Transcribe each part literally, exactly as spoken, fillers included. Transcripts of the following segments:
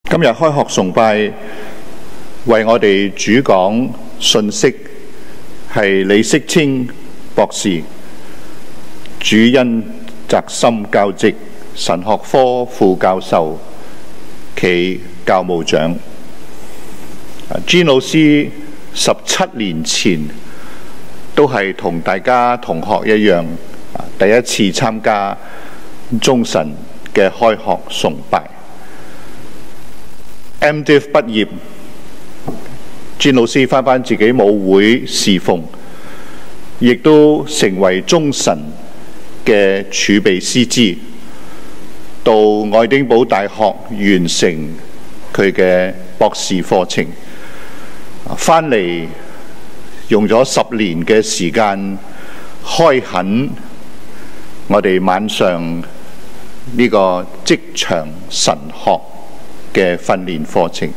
今日開學崇拜為我哋主講信息係李適清博士，主恩澤森教席神學科副教授暨教務長。詹老師十七年前都係同大家同學一樣，第一次參加中神嘅開學崇拜。M Div 畢業，詹老師返返自己母會侍奉，亦都成為中神嘅儲備師資，到愛丁堡大學完成佢嘅博士課程，返嚟用咗十年嘅時間開墾我哋晚上呢個職場神學嘅訓練課程。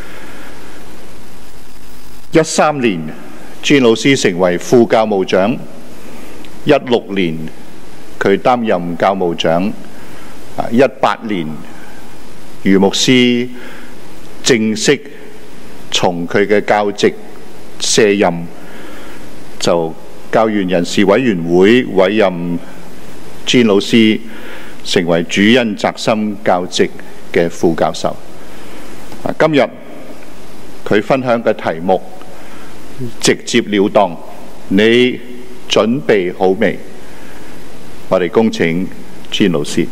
一三年，詹老師成為副教務長；一六年，佢擔任教務長；一八年，余牧師正式從佢嘅教席卸任，就教員人事委員會委任詹老師成為主恩澤森教席嘅副教授。今日佢分享嘅題目直接了當，你準備好未？我哋恭請詹老師。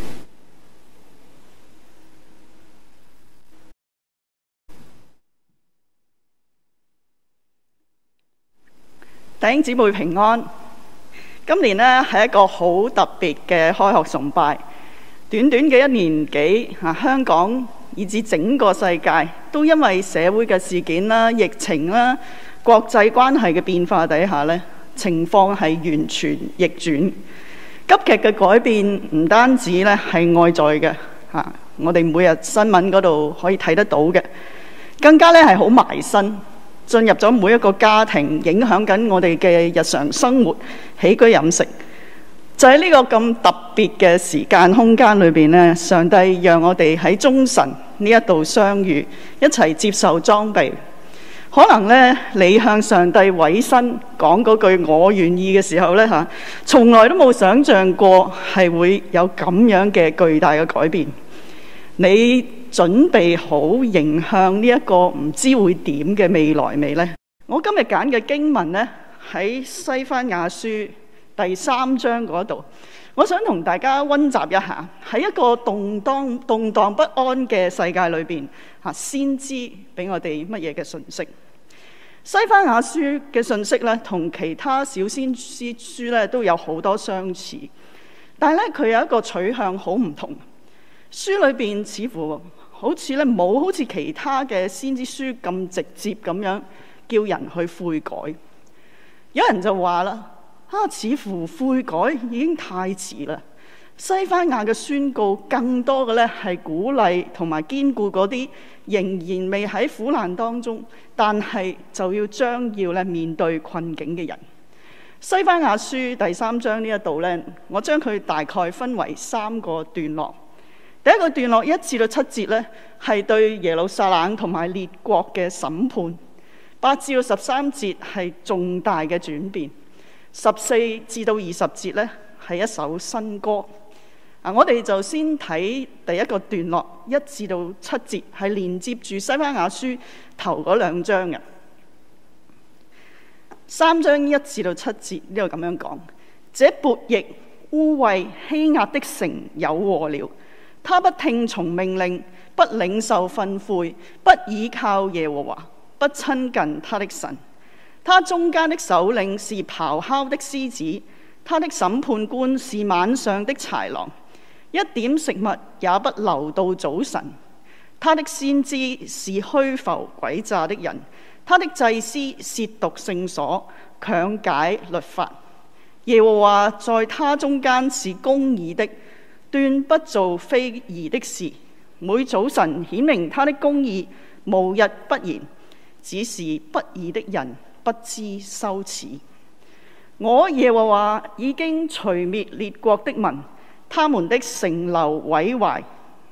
弟兄姊妹平安。今年呢係一個好特別嘅開學崇拜，短短嘅一年幾，啊香港以至整個世界都因為社會嘅事件啦、疫情啦、國際關係嘅變化底下呢，情況係完全逆轉。急劇嘅改變唔單止咧係外在嘅，嚇我哋每日新聞嗰度可以睇得到嘅，更加咧係好埋身，進入咗每一個家庭，影響緊我哋嘅日常生活、起居飲食。就喺呢個咁特別嘅時間空間裏邊呢，上帝讓我哋喺中神呢一度相遇，一齊接受裝備。可能呢，你向上帝委身講嗰句我願意嘅時候呢，嚇，從來都冇想像過係會有咁樣嘅巨大嘅改變。你準備好迎向呢一個唔知會點嘅未來未呢？我今日揀嘅經文呢，喺西番雅書第三章嗰度，我想同大家溫習一下，喺一個動盪動盪不安嘅世界裏邊，嚇先知俾我哋乜嘢嘅信息？西番雅書嘅信息咧，同其他小先知書咧都有好多相似，但係咧佢有一個取向好唔同。書裏邊似乎好似咧冇好似其他嘅先知書咁直接咁樣叫人去悔改。有人就話啦。啊，似乎悔改已經太遲啦。西番雅嘅宣告更多嘅咧係鼓勵同埋堅固嗰啲仍然未喺苦難當中，但係就要將要咧面對困境嘅人。西番雅書第三章呢一度咧，我將佢大概分為三個段落。第一個段落一至到七節咧，係對耶路撒冷同埋列國嘅審判；八至到十三節係重大嘅轉變。十四至到二十節呢，係一首新歌。啊，我哋就先睇第一個段落，一至到七節係連接住西番雅書頭嗰兩章嘅。三章一至到七節呢度咁樣講：這悖逆污穢欺壓的城有禍了，他不聽從命令，不領受訓誨，不倚靠耶和華，不親近他的神。他中間的首領是咆哮的獅子，他的審判官是晚上的豺狼，一點食物也不留到早晨。他的先知是虛浮詭詐的人，他的祭司褻瀆聖所，強解律法。耶和華在他中間是公義的，斷不做非義的事。每早晨顯明他的公義，無日不言，只是不義的人不知羞恥。我耶和華已經除滅列國的民，他們的城樓毀壞，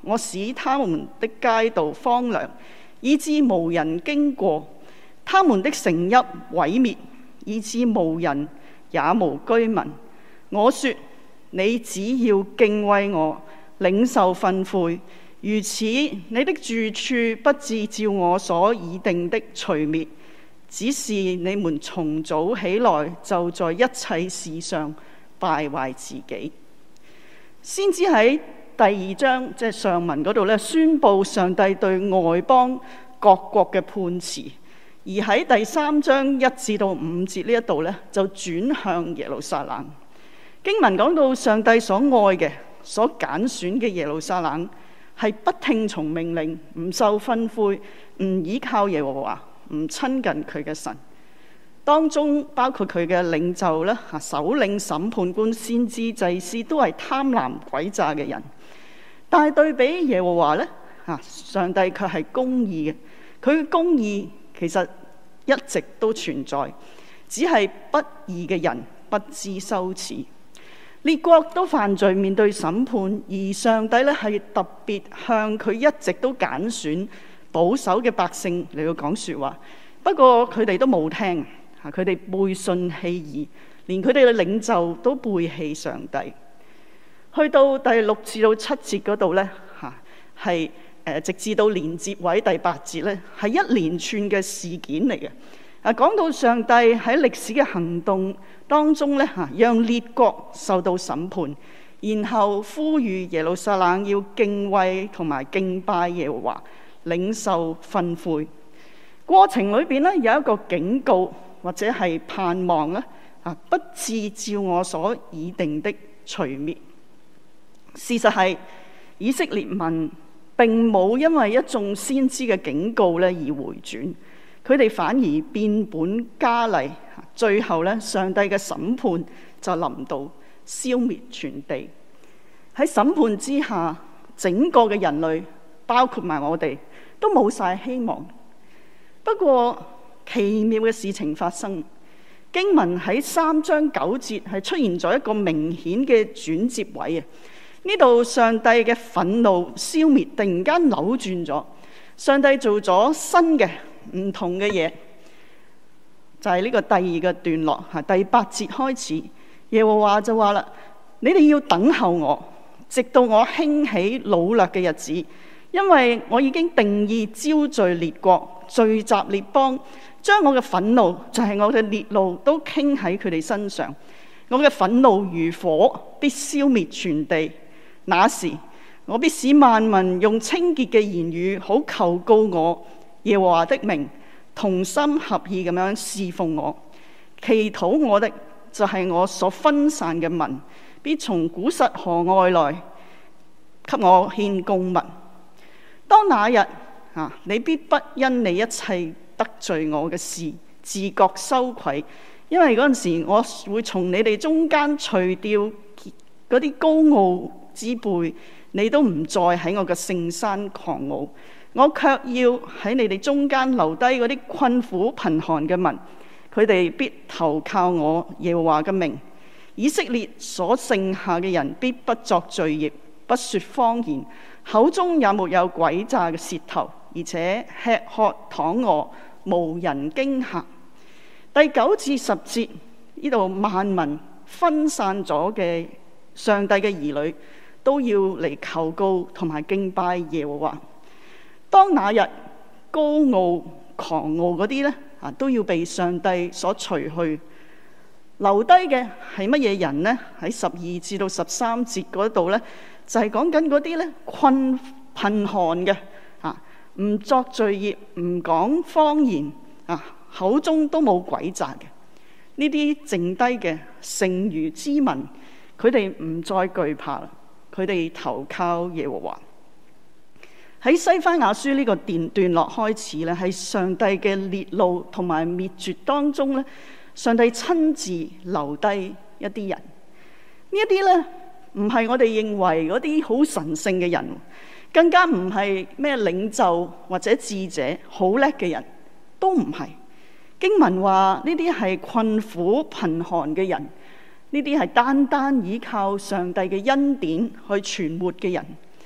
我使他們的街道荒涼，以致無人經過；他們的城邑毀滅，以致無人也無居民。我說：你只要敬畏我，領受訓誨，如此你的住處不致照我所擬定的除滅。只是你們從早起來就在一切事上敗壞自己。先知喺第二章即係上文嗰度咧，宣佈上帝對外邦各國嘅判詞，而喺第三章一至到五節呢一度咧，就轉向耶路撒冷。經文講到上帝所愛嘅、所揀選嘅耶路撒冷係不聽從命令、唔受訓誨、唔依靠耶和華、唔親近佢嘅神，當中包括佢嘅領袖咧、首領、審判官、先知、祭司，都係貪婪詭詐嘅人。但係對比耶和華咧，上帝卻係公義嘅。佢嘅公義其實一直都存在，只係不義嘅人不知羞恥。列國都犯罪面對審判，而上帝咧係特別向佢一直都揀選保守嘅百姓嚟到講說話。不過佢哋都冇聽，佢哋背信棄義，連佢哋嘅領袖都背棄上帝。去到第六至到七節嗰度咧，嚇係誒直至到連接位第八節咧，係一連串嘅事件嚟嘅。啊，講到上帝喺歷史嘅行動當中咧，嚇讓列國受到審判，然後呼籲耶路撒冷要敬畏同埋敬拜耶和華，領受訓誨。過程裏邊咧有一個警告或者係盼望咧，啊不致照我所擬定的除滅。事實係以色列民並冇因為一眾先知嘅警告咧而回轉。佢哋反而變本加厲，最後咧，上帝嘅審判就臨到，消滅全地。喺審判之下，整個嘅人類，包括埋我哋，都冇晒希望。不過奇妙嘅事情發生，經文喺三章九節係出現咗一個明顯嘅轉接位啊！呢度上帝嘅憤怒消滅，突然間扭轉咗，上帝做咗新嘅唔同嘅嘢，就係、是、呢個第二個段落嚇，第八節開始，耶和華就話啦：你哋要等候我，直到我興起擄掠嘅日子，因為我已經定意招聚列國，聚集列邦，將我嘅憤怒，就係、是、我嘅烈怒，都傾喺佢哋身上。我嘅憤怒如火，必消滅全地。那時，我必使萬民用清潔嘅言語，好求告我耶和華的名，同心合意咁樣侍奉我。祈禱我的就係我所分散嘅民，必從古實河外來給我獻供物。當那日啊，你必不因你一切得罪我嘅事自覺羞愧，因為嗰陣時我會從你哋中間除掉嗰啲高傲之輩，你都唔再喺我嘅聖山狂傲。我卻要喺你哋中間留低嗰啲困苦貧寒嘅民，佢哋必投靠我耶和華嘅名。以色列所剩下嘅人必不作罪孽，不說謊言，口中也沒有詭詐嘅舌頭，而且吃喝躺臥，無人驚嚇。第九至十節呢度，萬民分散咗嘅上帝嘅兒女都要嚟求告同埋敬拜耶和華。當那日高傲狂傲嗰啲咧啊，都要被上帝所除去，留低嘅係乜嘢人呢？喺十二至到十三節嗰度咧，就係講緊嗰啲咧困貧寒嘅啊，唔作罪孽，唔講謊言啊，口中都冇詭詐嘅呢啲剩低嘅剩餘之民，佢哋唔再懼怕啦，佢哋投靠耶和華。喺西番雅書呢個段段落開始咧，喺上帝嘅烈怒同埋滅絕當中咧，上帝親自留低一啲人。呢一啲咧唔係我哋認為嗰啲好神聖嘅人，更加唔係咩領袖或者智者好叻嘅人，都唔係。經文話呢啲係困苦貧寒嘅人，呢啲係單單依靠上帝嘅恩典去存活嘅人。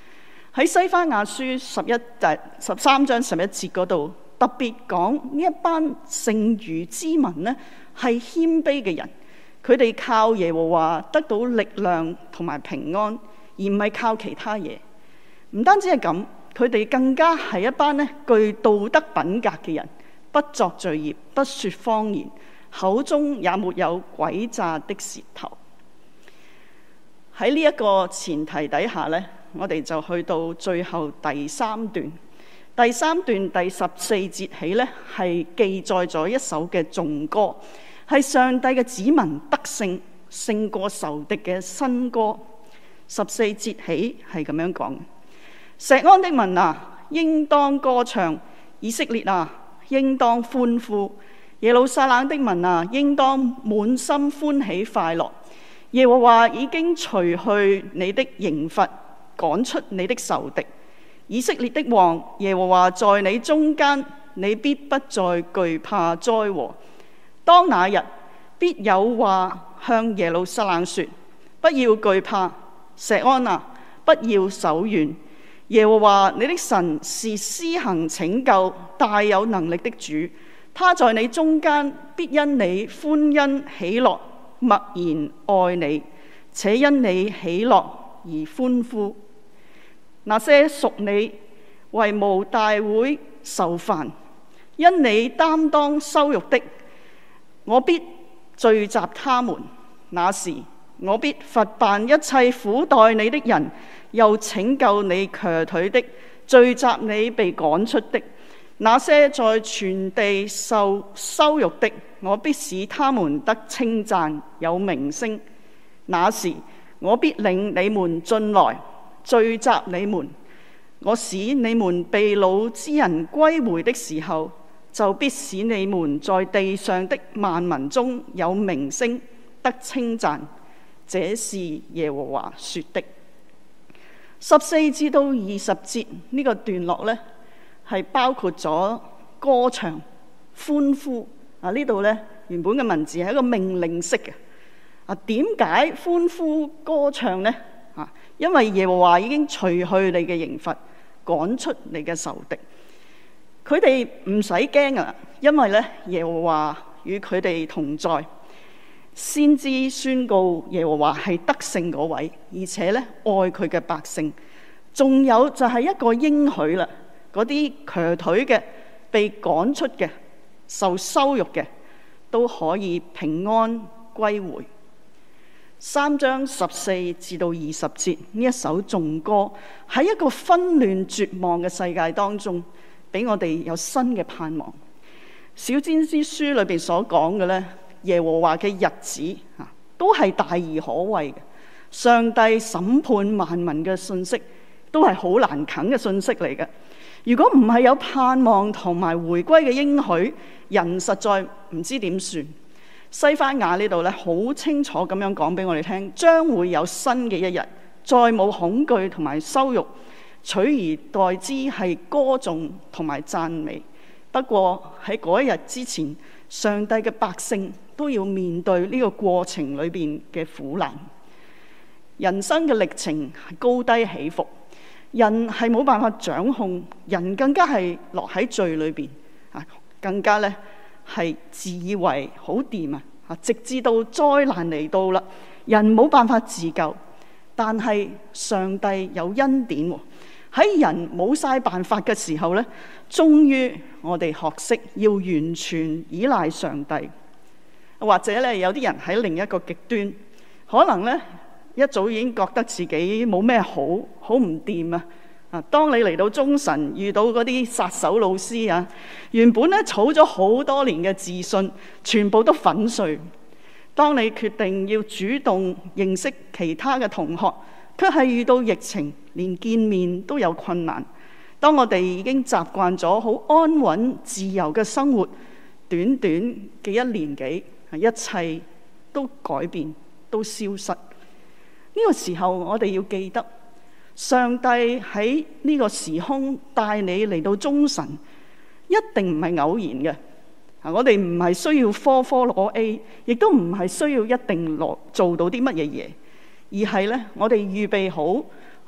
喺西番雅書十一誒十三章十一節嗰度，特別講呢一班剩餘之民呢係謙卑嘅人，佢哋靠耶和華得到力量同埋平安，而唔係靠其他嘢。唔單止係咁，佢哋更加係一班呢具道德品格嘅人，不作罪孽，不說謊言，口中也沒有詭詐的舌頭。喺呢一個前提底下呢，我哋就去到最後第三段。第三段第十四節起呢，係記載咗一首嘅頌歌，係上帝嘅子民得勝勝過仇敵嘅新歌。十四節起係咁樣講：錫安的民啊，應當歌唱；以色列啊，應當歡呼；耶路撒冷的民啊，應當滿心歡喜快樂。耶和華已經除去你的刑罰，趕出你的仇敵。以色列的王，耶和華在你中間，你必不再懼怕災禍。當那日，必有話向耶路撒冷說：不要懼怕，錫安啊，不要手軟。耶和華你的神是施行拯救、大有能力的主，他在你中間，必因你歡欣喜樂，默然愛你，且因你喜樂而歡呼。那些屬你為無大會受煩，因你擔當羞辱的，我必聚集他們。那時我必罰辦一切苦待你的人，又拯救你瘸腿的，聚集你被趕出的。那些在全地受羞辱的，我必使他們得稱讚，有名聲。那時我必領你們進來，聚集你們。我使你們被擄之人歸回的時候，就必使你們在地上的萬民中有名聲，得稱讚。這是耶和華說的。十四至到二十節呢個段落呢，係包括咗歌唱、歡呼啊！呢度呢，原本嘅文字係一個命令式嘅啊。點解歡呼歌唱呢？啊，因為耶和華已經除去你嘅刑罰，趕出你嘅仇敵。佢哋唔使驚啊，因為呢，耶和華與佢哋同在。先知宣告耶和華係得勝嗰位，而且呢，愛佢嘅百姓。仲有就係一個應許啦。嗰啲瘸腿嘅、被趕出嘅、受羞辱嘅，都可以平安歸回。三章十四至到二十節呢一首頌歌，喺一個紛亂絕望嘅世界當中，俾我哋有新嘅盼望。小先知書裏邊所講嘅呢，耶和華嘅日子啊，都係大而可畏嘅。上帝審判萬民嘅信息，都係好難啃嘅信息嚟嘅。如果唔係有盼望同埋回歸嘅應許，人實在唔知點算。西番雅呢度咧，好清楚咁樣講俾我哋聽，將會有新嘅一日，再冇恐懼同埋羞辱，取而代之係歌頌同埋讚美。不過喺嗰一日之前，上帝嘅百姓都要面對呢個過程裏邊嘅苦難。人生嘅歷程係高低起伏，人係冇辦法掌控，人更加係落喺罪裏邊啊，更加咧係自以為好掂啊！啊，直至到災難嚟到啦，人冇辦法自救，但係上帝有恩典喎。喺人冇晒辦法嘅時候咧，終於我哋學識要完全依賴上帝。或者咧，有啲人喺另一個極端，可能咧一早已經覺得自己冇咩好，好唔掂啊！啊，當你嚟到中神遇到嗰啲殺手老師啊，原本咧儲咗好多年嘅自信，全部都粉碎。當你決定要主動認識其他嘅同學，卻係遇到疫情，連見面都有困難。當我哋已經習慣咗好安穩自由嘅生活，短短嘅一年幾，一切都改變，都消失。呢個時候，我哋要記得，上帝喺呢個時空帶你嚟到中神，一定唔係偶然嘅。我哋唔係需要科科攞 A， 亦都唔係需要一定攞做到啲乜嘢嘢，而係咧，我哋預備好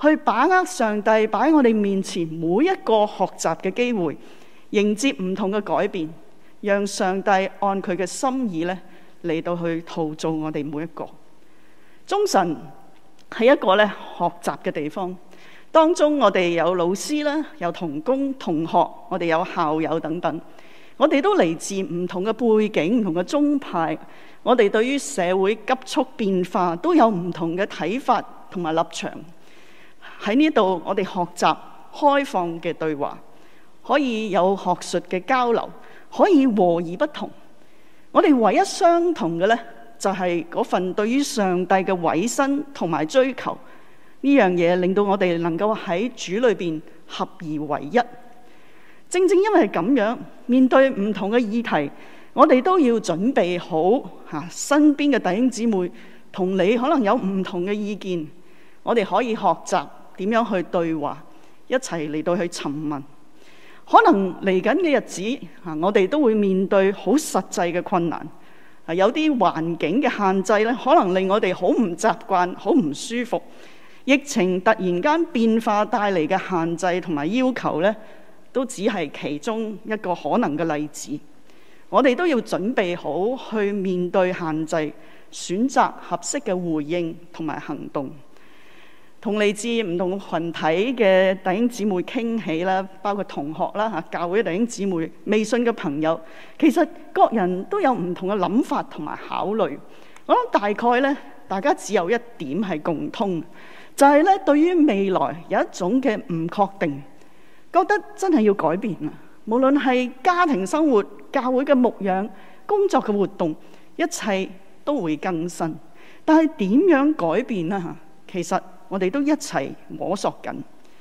去把握上帝擺喺我哋面前每一個學習嘅機會，迎接唔同嘅改變，讓上帝按佢嘅心意咧嚟到去陶造我哋每一個。中神係一個咧學習嘅地方，當中我哋有老師啦，有同工同學，我哋有校友等等，我哋都嚟自唔同嘅背景、唔同嘅宗派，我哋對於社會急速變化都有唔同嘅睇法同埋立場。喺呢度，我哋學習開放嘅對話，可以有學術嘅交流，可以和而不同。我哋唯一相同嘅呢，就係嗰份對於上帝嘅委身同埋追求呢樣嘢，令到我哋能夠喺主裏邊合而為一。正正因為咁樣，面對唔同嘅議題，我哋都要準備好嚇身邊嘅弟兄姊妹同你可能有唔同嘅意見，我哋可以學習點樣去對話，一齊嚟到去詢問。可能嚟緊嘅日子，我哋都會面對好實際嘅困難，有啲環境嘅限制咧，可能令我哋好唔習慣、好唔舒服。疫情突然間變化帶嚟嘅限制同埋要求咧，都只係其中一個可能嘅例子。我哋都要準備好去面對限制，選擇合適嘅回應同埋行動。同嚟自唔同群體嘅弟兄姊妹傾起啦，包括同學啦嚇，教會弟兄姊妹、微信嘅朋友，其實各人都有唔同嘅諗法同埋考慮。我諗大概咧，大家只有一點係共通，就係咧對於未來有一種嘅唔確定，覺得真係要改變啊！無論係家庭生活、教會嘅牧養、工作嘅活動，一切都會更新。但係點樣改變呢？嚇，其實我哋都一齊摸索緊。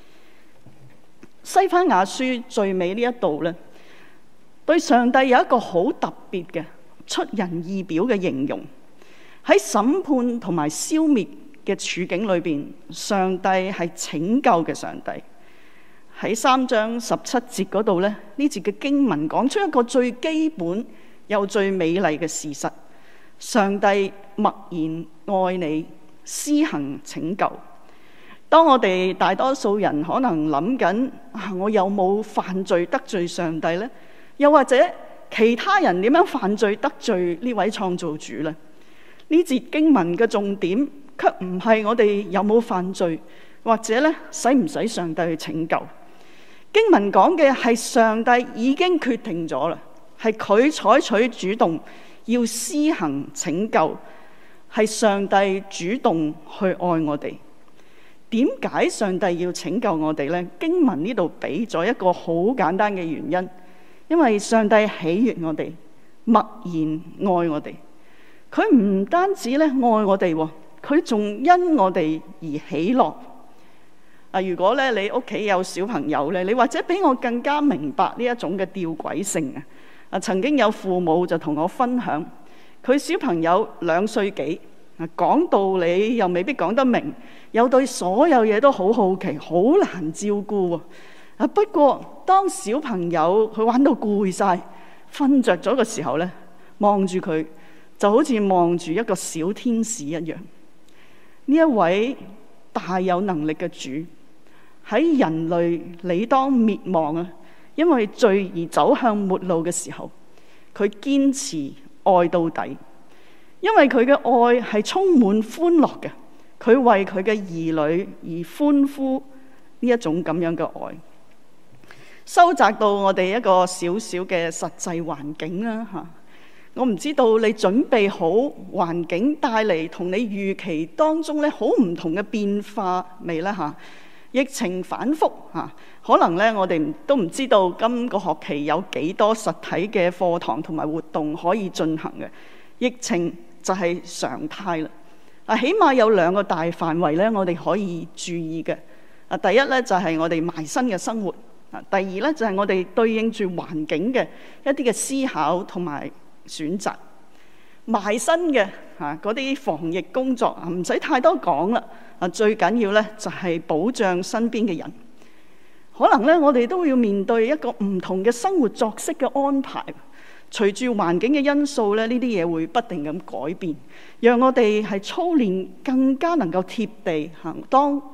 西番雅書最尾呢一度咧，對上帝有一個好特別嘅出人意表嘅形容。喺審判同埋消滅嘅處境裏邊，上帝係拯救嘅上帝。喺三章十七節嗰度咧，呢節嘅經文講出一個最基本又最美麗嘅事實：上帝默然愛你，施行拯救。當我哋大多數人可能諗緊啊，我有冇犯罪得罪上帝呢？又或者其他人點樣犯罪得罪呢位創造主呢？呢節經文嘅重點卻唔係我哋有冇犯罪，或者咧使唔使上帝去拯救。經文講嘅係上帝已經決定咗啦，係佢採取主動要施行拯救，係上帝主動去愛我哋。點解上帝要拯救我哋呢？經文呢度俾咗一個好簡單嘅原因，因為上帝喜悅我哋，默然愛我哋。佢唔單止咧愛我哋，佢仲因我哋而喜樂。啊，如果咧你屋企有小朋友咧，你或者比我更加明白呢一種嘅吊詭性啊！啊，曾經有父母就同我分享，佢小朋友兩歲幾。講道理又未必講得明，又對所有嘢都好好奇，好難照顧啊！不過當小朋友佢玩到攰晒，瞓着咗嘅時候呢，望住佢就好似望住一個小天使一樣。呢一位大有能力嘅主，喺人類理當滅亡啊，因為罪而走向末路嘅時候，佢堅持愛到底。因為佢嘅愛係充滿歡樂嘅，佢為佢嘅兒女而歡呼呢一種咁樣嘅愛。收窄到我哋一個小小嘅實際環境啦嚇，我唔知道你準備好環境帶嚟同你預期當中咧好唔同嘅變化未呢嚇？疫情反覆嚇，可能咧我哋都唔知道今個學期有幾多實體嘅課堂同埋活動可以進行嘅。疫情就係常態啦。啊，起碼有兩個大範圍咧，我哋可以注意嘅。啊，第一咧就係我哋埋身嘅生活。啊，第二咧就係我哋對應住環境嘅一啲嘅思考同埋選擇。埋身嘅嚇嗰啲防疫工作啊，唔使太多講啦。啊，最緊要咧就係保障身邊嘅人。可能咧我哋都要面對一個唔同嘅生活作息嘅安排。隨住環境嘅因素咧，呢啲嘢會不定咁改變，讓我哋係操練更加能夠貼地行。當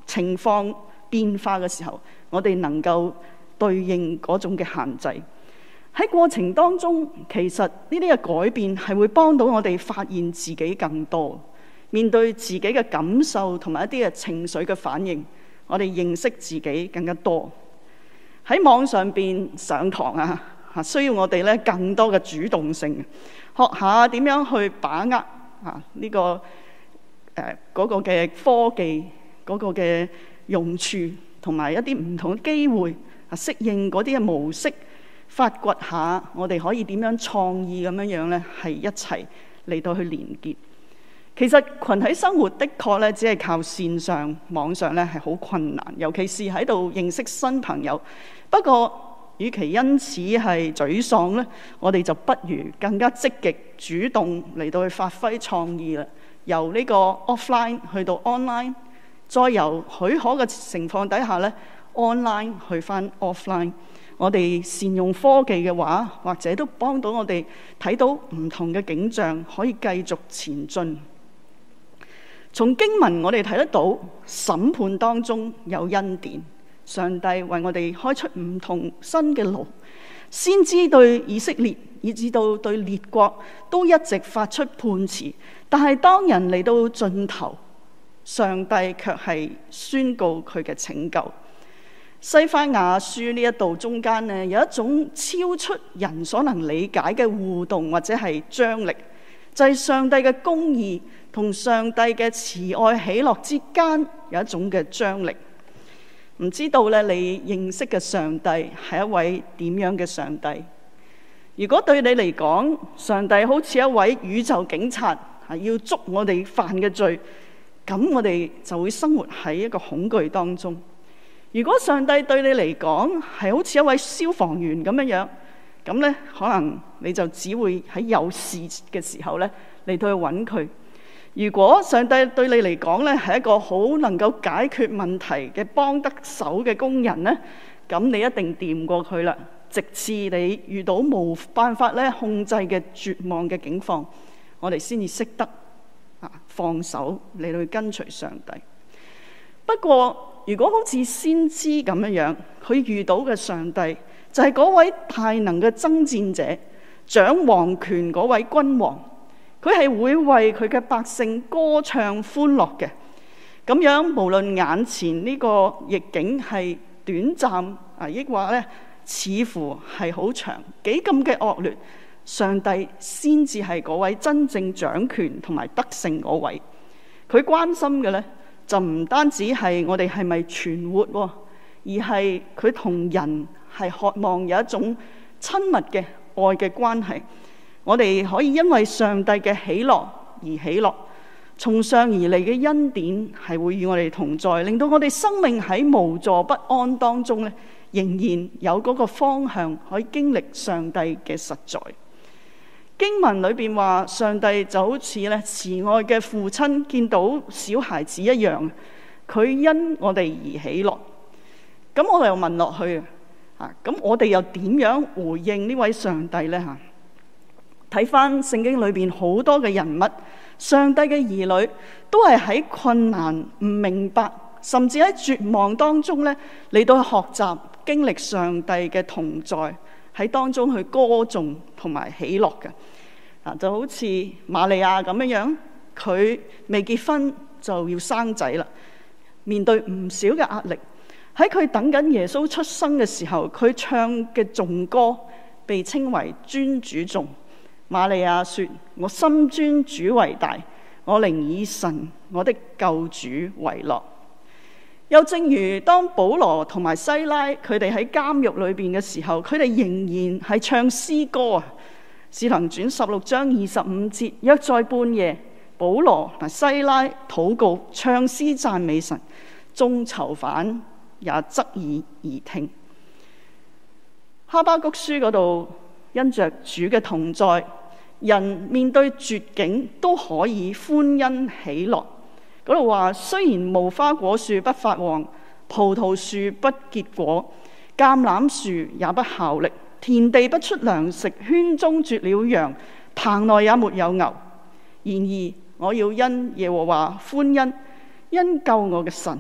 情況變化嘅時候，我哋能夠對應嗰種嘅限制。喺過程當中，其實呢啲嘅改變係會幫到我哋發現自己更多，面對自己嘅感受同埋一啲嘅情緒嘅反應，我哋認識自己更加多。喺網上邊上堂啊，需要我哋咧更多嘅主動性，學下點樣去把握啊呢個誒嗰個嘅科技嗰個嘅用處，同埋一啲唔同嘅機會啊，適應嗰啲嘅模式。發掘下我哋可以點樣創意咁樣樣咧，係一齊嚟到去連結。其實群體生活的確咧，只係靠線上網上咧係好困難，尤其是喺度認識新朋友。不過，與其因此係沮喪咧，我哋就不如更加積極主動嚟到去發揮創意啦。由呢個 offline 去到 online， 再由許可嘅情況底下咧 online 去返 offline。我哋善用科技嘅話，或者都幫到我哋睇到唔同嘅景象，可以繼續前進。從經文我哋睇得到，審判當中有恩典，上帝為我哋開出唔同新嘅路。先知對以色列以至到對列國都一直發出判詞，但係當人嚟到盡頭，上帝卻係宣告佢嘅拯救。西番雅書呢一度中間呢，有一種超出人所能理解嘅互動或者係張力，就係上帝嘅公義同上帝嘅慈愛喜樂之間有一種嘅張力。唔知道咧，你認識嘅上帝係一位點樣嘅上帝？如果對你嚟講，上帝好似一位宇宙警察，係要捉我哋犯嘅罪，咁我哋就會生活喺一個恐懼當中。如果上帝對你嚟講係好似一位消防員咁樣樣，咁咧可能你就只會喺有事嘅時候咧嚟到去揾佢。如果上帝對你嚟講咧係一個好能夠解決問題嘅幫得手嘅工人咧，咁你一定掂過佢啦。直至你遇到冇辦法咧控制嘅絕望嘅境況，我哋先至識得啊放手嚟到去跟隨上帝。不過，如果好似先知咁樣樣，佢遇到嘅上帝就係嗰位大能嘅爭戰者，掌王權嗰位君王，佢係會為佢嘅百姓歌唱歡樂嘅。咁樣無論眼前呢個逆境係短暫啊，抑或咧似乎係好長，幾咁嘅惡劣，上帝先至係嗰位真正掌權同埋得勝嗰位。佢關心嘅咧，就唔單止係我哋係咪存活，而係佢同人係渴望有一種親密嘅愛嘅關係。我哋可以因為上帝嘅喜樂而喜樂，從上而嚟嘅恩典係會與我哋同在，令到我哋生命喺無助不安當中咧，仍然有嗰個方向可以經歷上帝嘅實在。經文裏邊話，上帝就好似咧慈愛嘅父親見到小孩子一樣，佢因我哋而喜樂。咁我哋又問落去啊，咁我哋又點樣回應呢位上帝呢？吓，睇翻聖經裏邊好多嘅人物，上帝嘅兒女都係喺困難、唔明白，甚至喺絕望當中咧嚟到學習經歷上帝嘅同在。喺當中去歌頌同埋喜樂嘅，啊就好似瑪利亞咁樣樣，佢未結婚就要生仔啦，面對唔少嘅壓力。喺佢等緊耶穌出生嘅時候，佢唱嘅頌歌被稱為尊主頌。瑪利亞說：我心尊主為大，我寧以神我的救主為樂。又正如當保羅同埋西拉佢哋喺監獄裏邊嘅時候，佢哋仍然係唱詩歌啊！使徒行傳十六章二十五節，約在半夜，保羅同西拉禱告，唱詩讚美神，眾囚犯也側耳而聽。哈巴谷書嗰度，因着主嘅同在，人面對絕境都可以歡欣喜樂。嗰度話，雖然無花果樹不發旺，葡萄樹不結果，橄欖樹也不效力，田地不出糧食，圈中絕了羊，棚內也沒有牛。然而我要因耶和華歡欣，因救我嘅神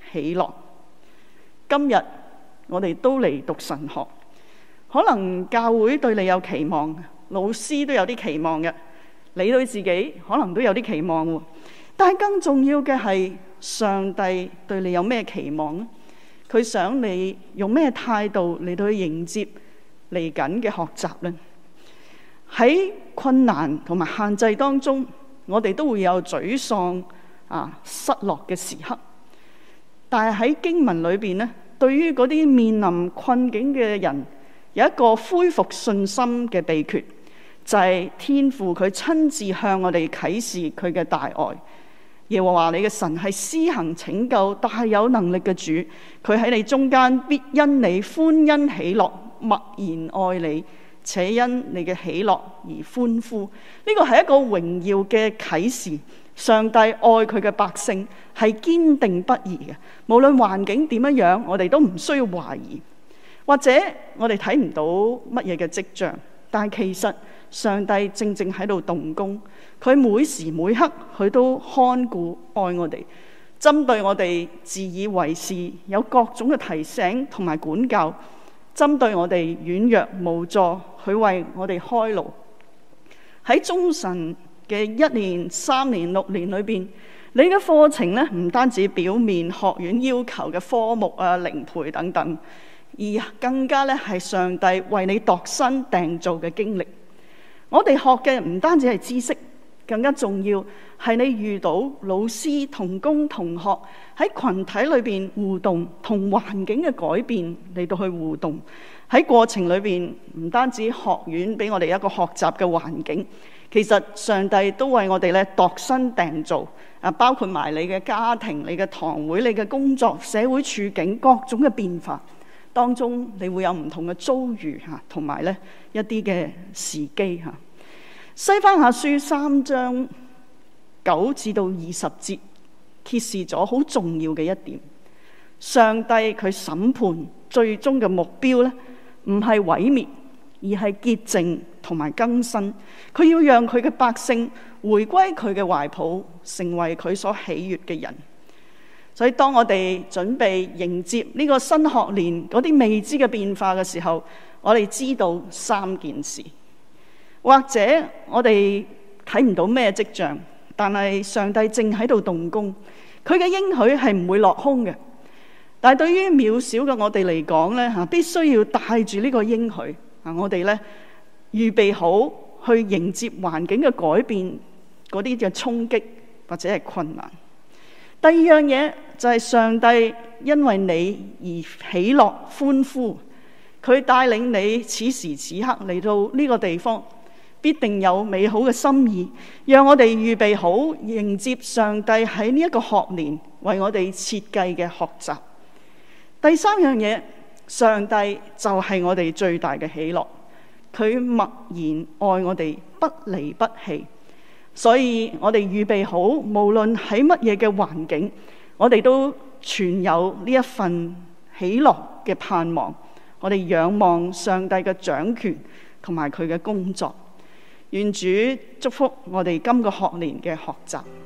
喜樂。今日我哋都嚟讀神學，可能教會對你有期望，老師都有啲期望嘅，你對自己可能都有啲期望喎。但係更重要嘅係上帝對你有咩期望呢？佢想你用咩態度嚟到去迎接嚟緊嘅學習呢？喺困難同埋限制當中，我哋都會有沮喪啊、失落嘅時刻。但係喺經文裏邊呢，對於嗰啲面臨困境嘅人，有一個恢復信心嘅秘訣，就係、是、天父佢親自向我哋啟示佢嘅大愛。耶和華你嘅神係施行拯救、大有能力嘅主，佢喺你中間必因你歡欣喜樂，默然愛你，且因你嘅喜樂而歡呼。呢個係一個榮耀嘅啟示。上帝愛佢嘅百姓係堅定不移嘅，無論環境點樣樣，我哋都唔需要懷疑，或者我哋睇唔到乜嘢嘅跡象，但係其實上帝正正喺度動工，佢每時每刻佢都看顧愛我哋，針對我哋自以為是，有各種嘅提醒同埋管教，針對我哋軟弱無助，佢為我哋開路。喺中神嘅一年、三年、六年裏邊，你嘅課程咧唔單止表面學院要求嘅科目啊、靈培等等，而更加咧係上帝為你度身訂造嘅經歷。我哋學嘅唔單止係知識，更加重要係你遇到老師、同工、同學喺群體裏邊互動，同環境嘅改變嚟到去互動。喺過程裏邊，唔單止學院俾我哋一個學習嘅環境，其實上帝都為我哋咧度身訂造啊，包括埋你嘅家庭、你嘅堂會、你嘅工作、社會處境各種嘅變化當中，你會有唔同嘅遭遇嚇，同埋咧一啲嘅時機嚇。西番雅書三章九至到二十節揭示咗好重要嘅一點：上帝佢審判最終嘅目標咧，唔係毀滅，而係潔淨同埋更新。佢要讓佢嘅百姓回歸佢嘅懷抱，成為佢所喜悅嘅人。所以當我哋準備迎接呢個新學年嗰啲未知嘅變化嘅時候，我哋知道三件事，或者我哋睇唔到咩跡象，但係上帝正喺度動工，佢嘅應許係唔會落空嘅。但係對於渺小嘅我哋嚟講咧嚇，必須要帶住呢個應許啊，我哋咧預備好去迎接環境嘅改變嗰啲嘅衝擊或者係困難。第二樣嘢就係上帝因為你而喜樂歡呼，佢帶領你此時此刻嚟到呢個地方，必定有美好嘅心意，讓我哋預備好迎接上帝喺呢一個學年為我哋設計嘅學習。第三樣嘢，上帝就係我哋最大嘅喜樂，佢默然愛我哋，不離不棄。所以我哋預備好，無論喺乜嘢嘅環境，我哋都存有呢一份喜樂嘅盼望。我哋仰望上帝嘅掌權同埋佢嘅工作。願主祝福我哋今個學年嘅學習。